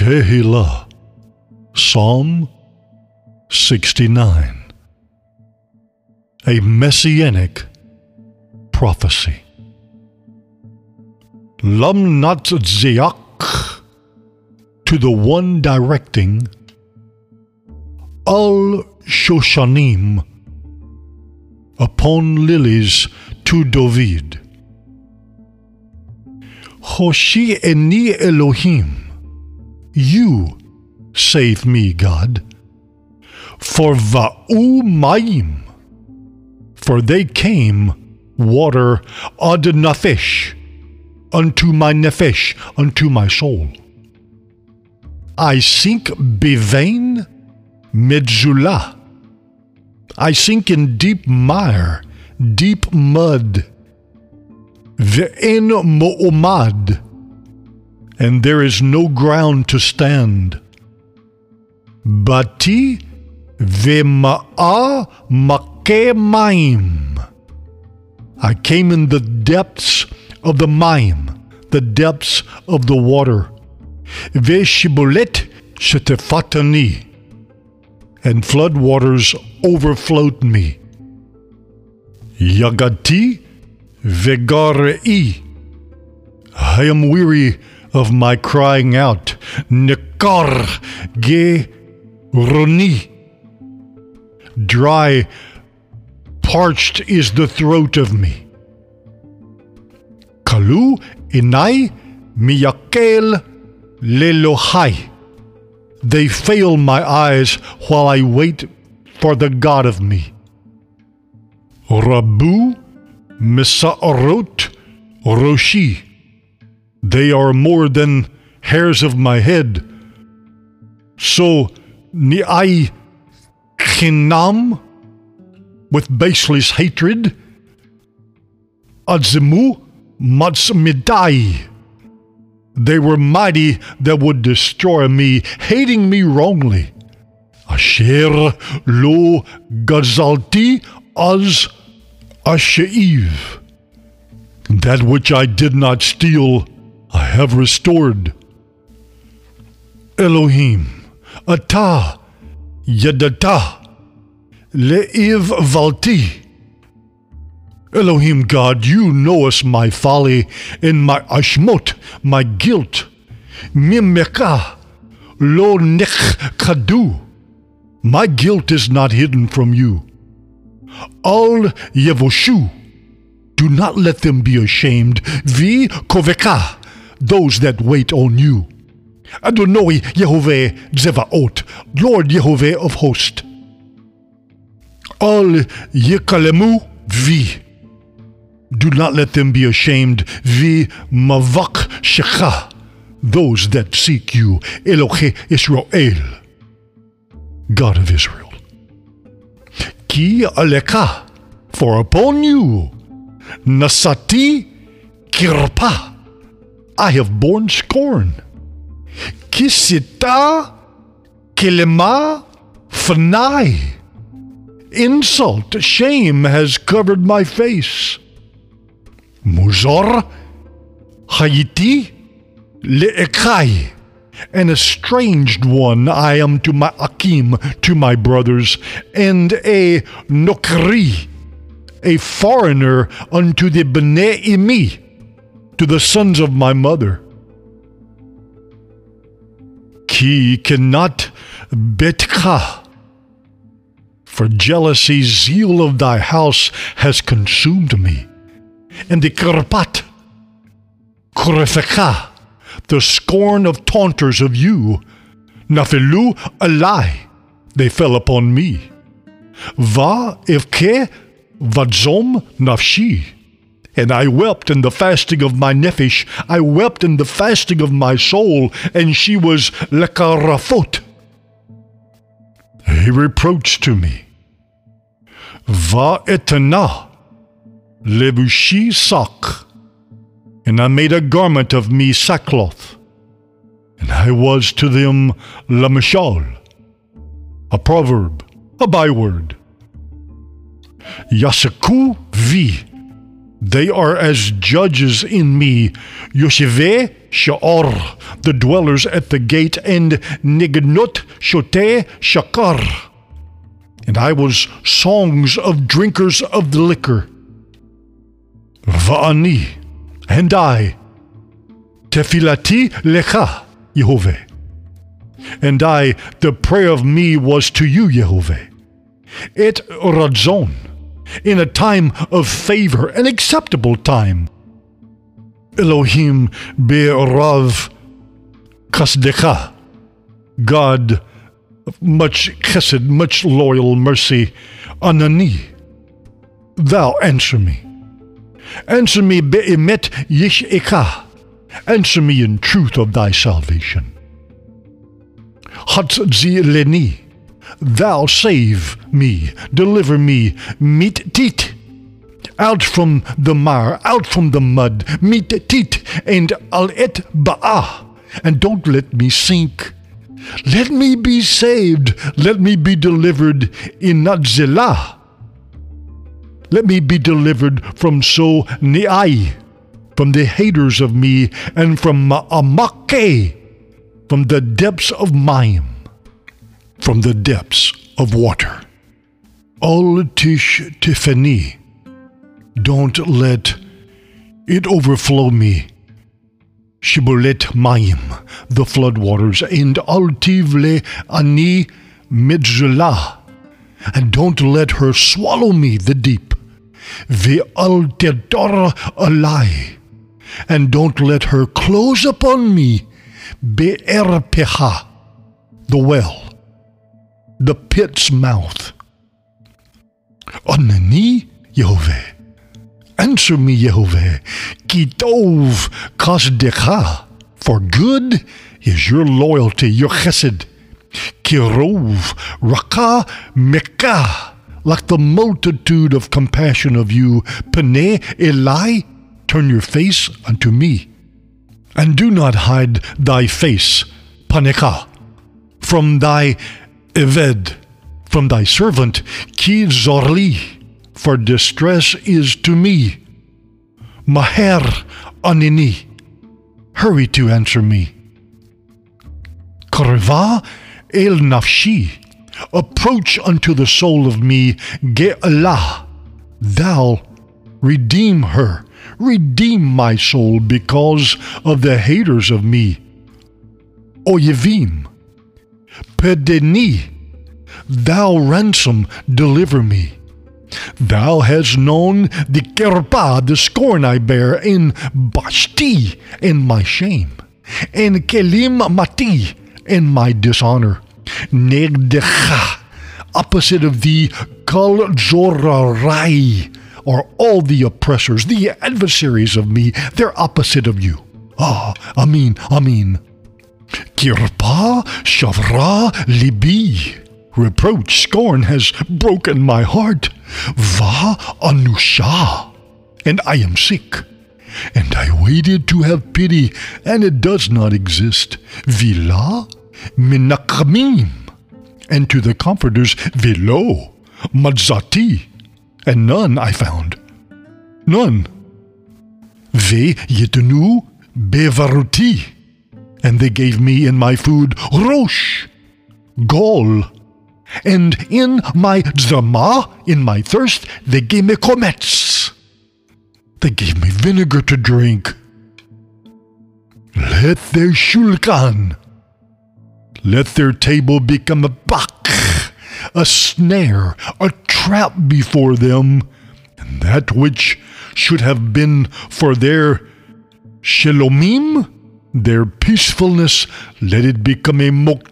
Tehillah, Psalm 69. A Messianic Prophecy. Lamnat Zeak, to the one directing, Al Shoshanim, upon lilies to David. Hoshi eni Elohim, you save me, God. For va'u mayim, for they came water ad nafesh, unto my nefesh, unto my soul. I sink bevain medzulah, I sink in deep mire, deep mud. Ve'en mo'omad, and there is no ground to stand. Bati ve'ma'a makeh maim, I came in the depths of the maim, the depths of the water. Ve'shibolet shetefatani, and flood waters overflowed me. Yagati vegarei, I am weary of my crying out. Nekar ge roni, dry, parched is the throat of me. Kalu inai miyakel lelohai, they fail my eyes while I wait for the God of me. Rabu misa'arot roshi, they are more than hairs of my head. So ni'ai chinam, with baseless hatred. Adzimu matzmidai, they were mighty that would destroy me, hating me wrongly. Asher lo gazalti az asheiv, that which I did not steal, I have restored. Elohim, Ata, Yadata, Le'iv Valti. Elohim God, you knowest my folly and my ashmot, my guilt. Mimeka, lo nechkadu, my guilt is not hidden from you. Al yevoshu, do not let them be ashamed. Vi koveka, those that wait on you. Adonai Yehovah Zevaot, Lord Yehovah of hosts. Al yekalemu vi, do not let them be ashamed. Vi mavak shecha, those that seek you. Elohe Israel, God of Israel. Ki aleka, for upon you, nasati kirpa, I have borne scorn. Kisita kelema fanai, insult, shame has covered my face. Muzor hayiti le'ekai, an estranged one I am to my akim, to my brothers, and a nokri, a foreigner unto the bnei imi, to the sons of my mother. Ki cannot betka, for jealousy, zeal of thy house has consumed me. And the karpat, kurefeka, the scorn of taunters of you, nafelu alai, they fell upon me. Va evke vadzom nafshi, and I wept in the fasting of my nefesh, I wept in the fasting of my soul, and she was lekarafot, a reproach to me. Va etana levushi sak, and I made a garment of me sackcloth, and I was to them lamashal, a proverb, a byword. Yasaku vi, They are as judges in me, Yosheveh Sha'or, the dwellers at the gate, and Nignot Shoteh Shakar. And I was songs of drinkers of the liquor. Va'ani, and I, Tefilati Lecha, Yehovah. And I, the prayer of me was to you, Yehovah. Et Radzon, in a time of favor, an acceptable time. Elohim be'rav kasdecha, God, much chesed, much loyal mercy, anani, thou answer me. Answer me be'emet yish'eka, answer me in truth of thy salvation. Hatzzi leni, thou save me, deliver me, mit tit, out from the mire, out from the mud, mit tit, and al et ba'ah, and don't let me sink. Let me be saved, let me be delivered in Natzelah. Let me be delivered from so ne'ai, from the haters of me, and from ma'amake, from the depths of Mayim, from the depths of water. Al tish tifani, don't let it overflow me. Shibolet Mayim, the floodwaters, and al tivle ani midzlah, and don't let her swallow me, the deep. Ve'al tedor alai, and don't let her close upon me. Be'er peha, the well, the pit's mouth. Anani, Yehovah, answer me, Yehovah. Ki tov kasdecha, for good is your loyalty, your chesed. Ki rov raka mekah, like the multitude of compassion of you. Peneh elai, turn your face unto me. And do not hide thy face, Paneka, from thy Eved, from thy servant, Ki Zorli, for distress is to me. Maher Anini, hurry to answer me. Karva El Nafshi, approach unto the soul of me. Ge'elah, thou redeem her. Redeem my soul because of the haters of me. Oyevim, pedeni, thou ransom, deliver me. Thou hast known the kerpa, the scorn I bear, in bashti, in my shame, in kelim mati, in my dishonor. Negdecha, opposite of thee, kal zorarai, are all the oppressors, the adversaries of me, they're opposite of you. Amin, amin. Kirpa shavra libi, reproach, scorn has broken my heart. Va anusha, and I am sick. And I waited to have pity, and it does not exist. Vila minakamim, and to the comforters, velo madzati, and none I found. None. Ve yitenu bevaruti, and they gave me in my food rosh, gall, and in my zama, in my thirst, they gave me komets. They gave me vinegar to drink. Let their shulkan, let their table become a bak, a snare, a trap before them, and that which should have been for their shalomim, their peacefulness, let it become a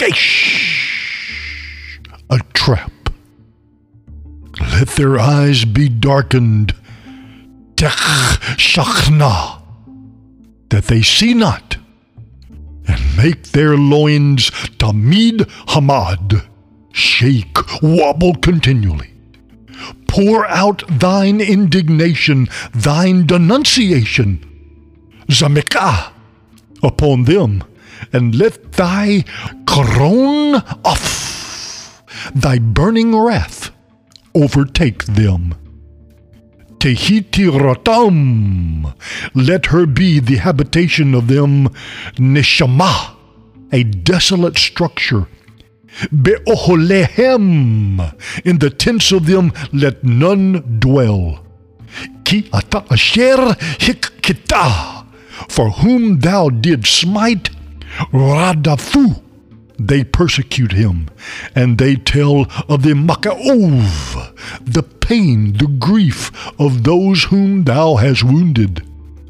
mokesh, a trap. Let their eyes be darkened, tech shachna, that they see not, and make their loins tamid hamad, shake, wobble continually. Pour out thine indignation, thine denunciation, zamekah, upon them, and let thy karon off, thy burning wrath, overtake them. Tehiti-ratam. Let her be the habitation of them. Neshama, a desolate structure. Be'oholehem, in the tents of them let none dwell. Ki ata asher hikkita, for whom thou didst smite, radafu, they persecute him, and they tell of the makaov, the pain, the grief of those whom thou hast wounded.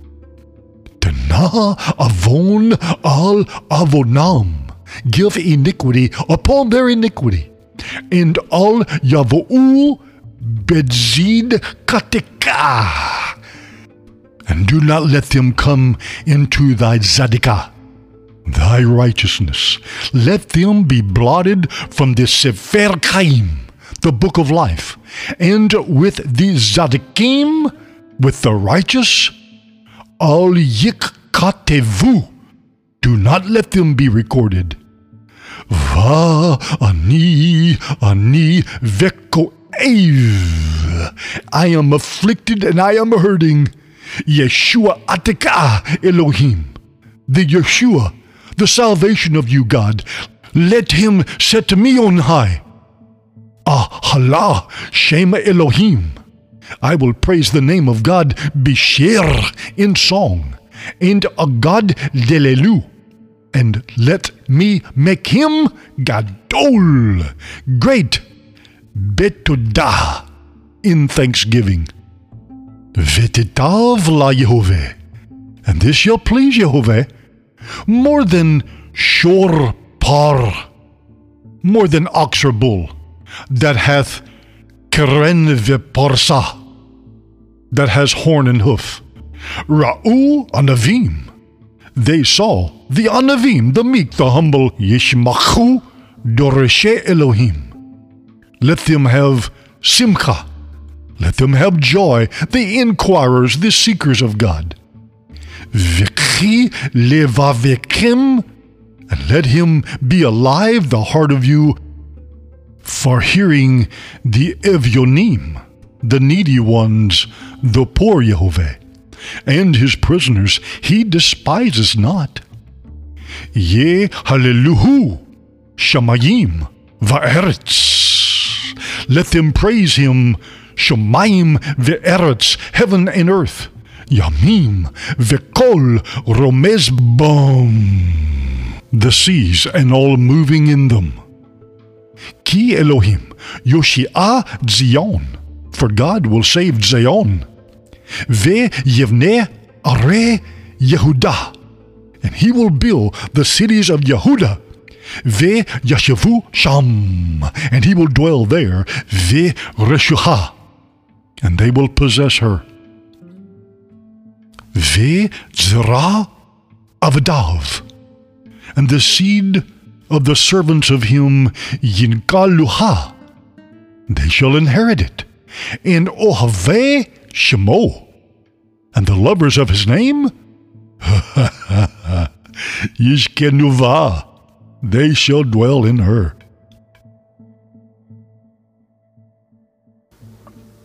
Tana avon al avonam, give iniquity upon their iniquity, and al yavo'u bedzid katika, and do not let them come into thy zadikah, thy righteousness. Let them be blotted from the Sefer Chaim, the book of life, and with the Zadikim, with the righteous, al yikatevu, do not let them be recorded. Va ani vekoev, I am afflicted and I am hurting. Yeshua atika Elohim, the Yeshua, the salvation of you, God. Let him set me on high. Ahala Shema Elohim. I will praise the name of God Bishir in song, and a God Delelu, and let me make him Gadol, great, Betodah, in thanksgiving. Vetitav la Yehovah, and this shall please Yehovah, more than shor par, more than ox or bull, that hath keren veporsa, that has horn and hoof. Ra'u anavim, they saw the anavim, the meek, the humble. Yishmachu doreshe Elohim, let them have simcha, let them have joy, the inquirers, the seekers of God. V'chi levavekim, and let him be alive, the heart of you, for hearing the evyonim, the needy ones, the poor Yehovah, and his prisoners he despises not. Ye hallelu shamayim va'eretz, let them praise him, shamayim ve'eretz, heaven and earth. Yamim vekol romez bom, the seas and all moving in them. Ki Elohim Yoshia Zion, for God will save Zion. Ve yevneh are Yehudah, and he will build the cities of Yehudah. Ve yashavu sham, and he will dwell there. Ve reshuha, and they will possess her. Ve zera avadav, and the seed of the servants of him yinkaluha, they shall inherit it. And ohave shemo, and the lovers of his name, yishkenuva, they shall dwell in her.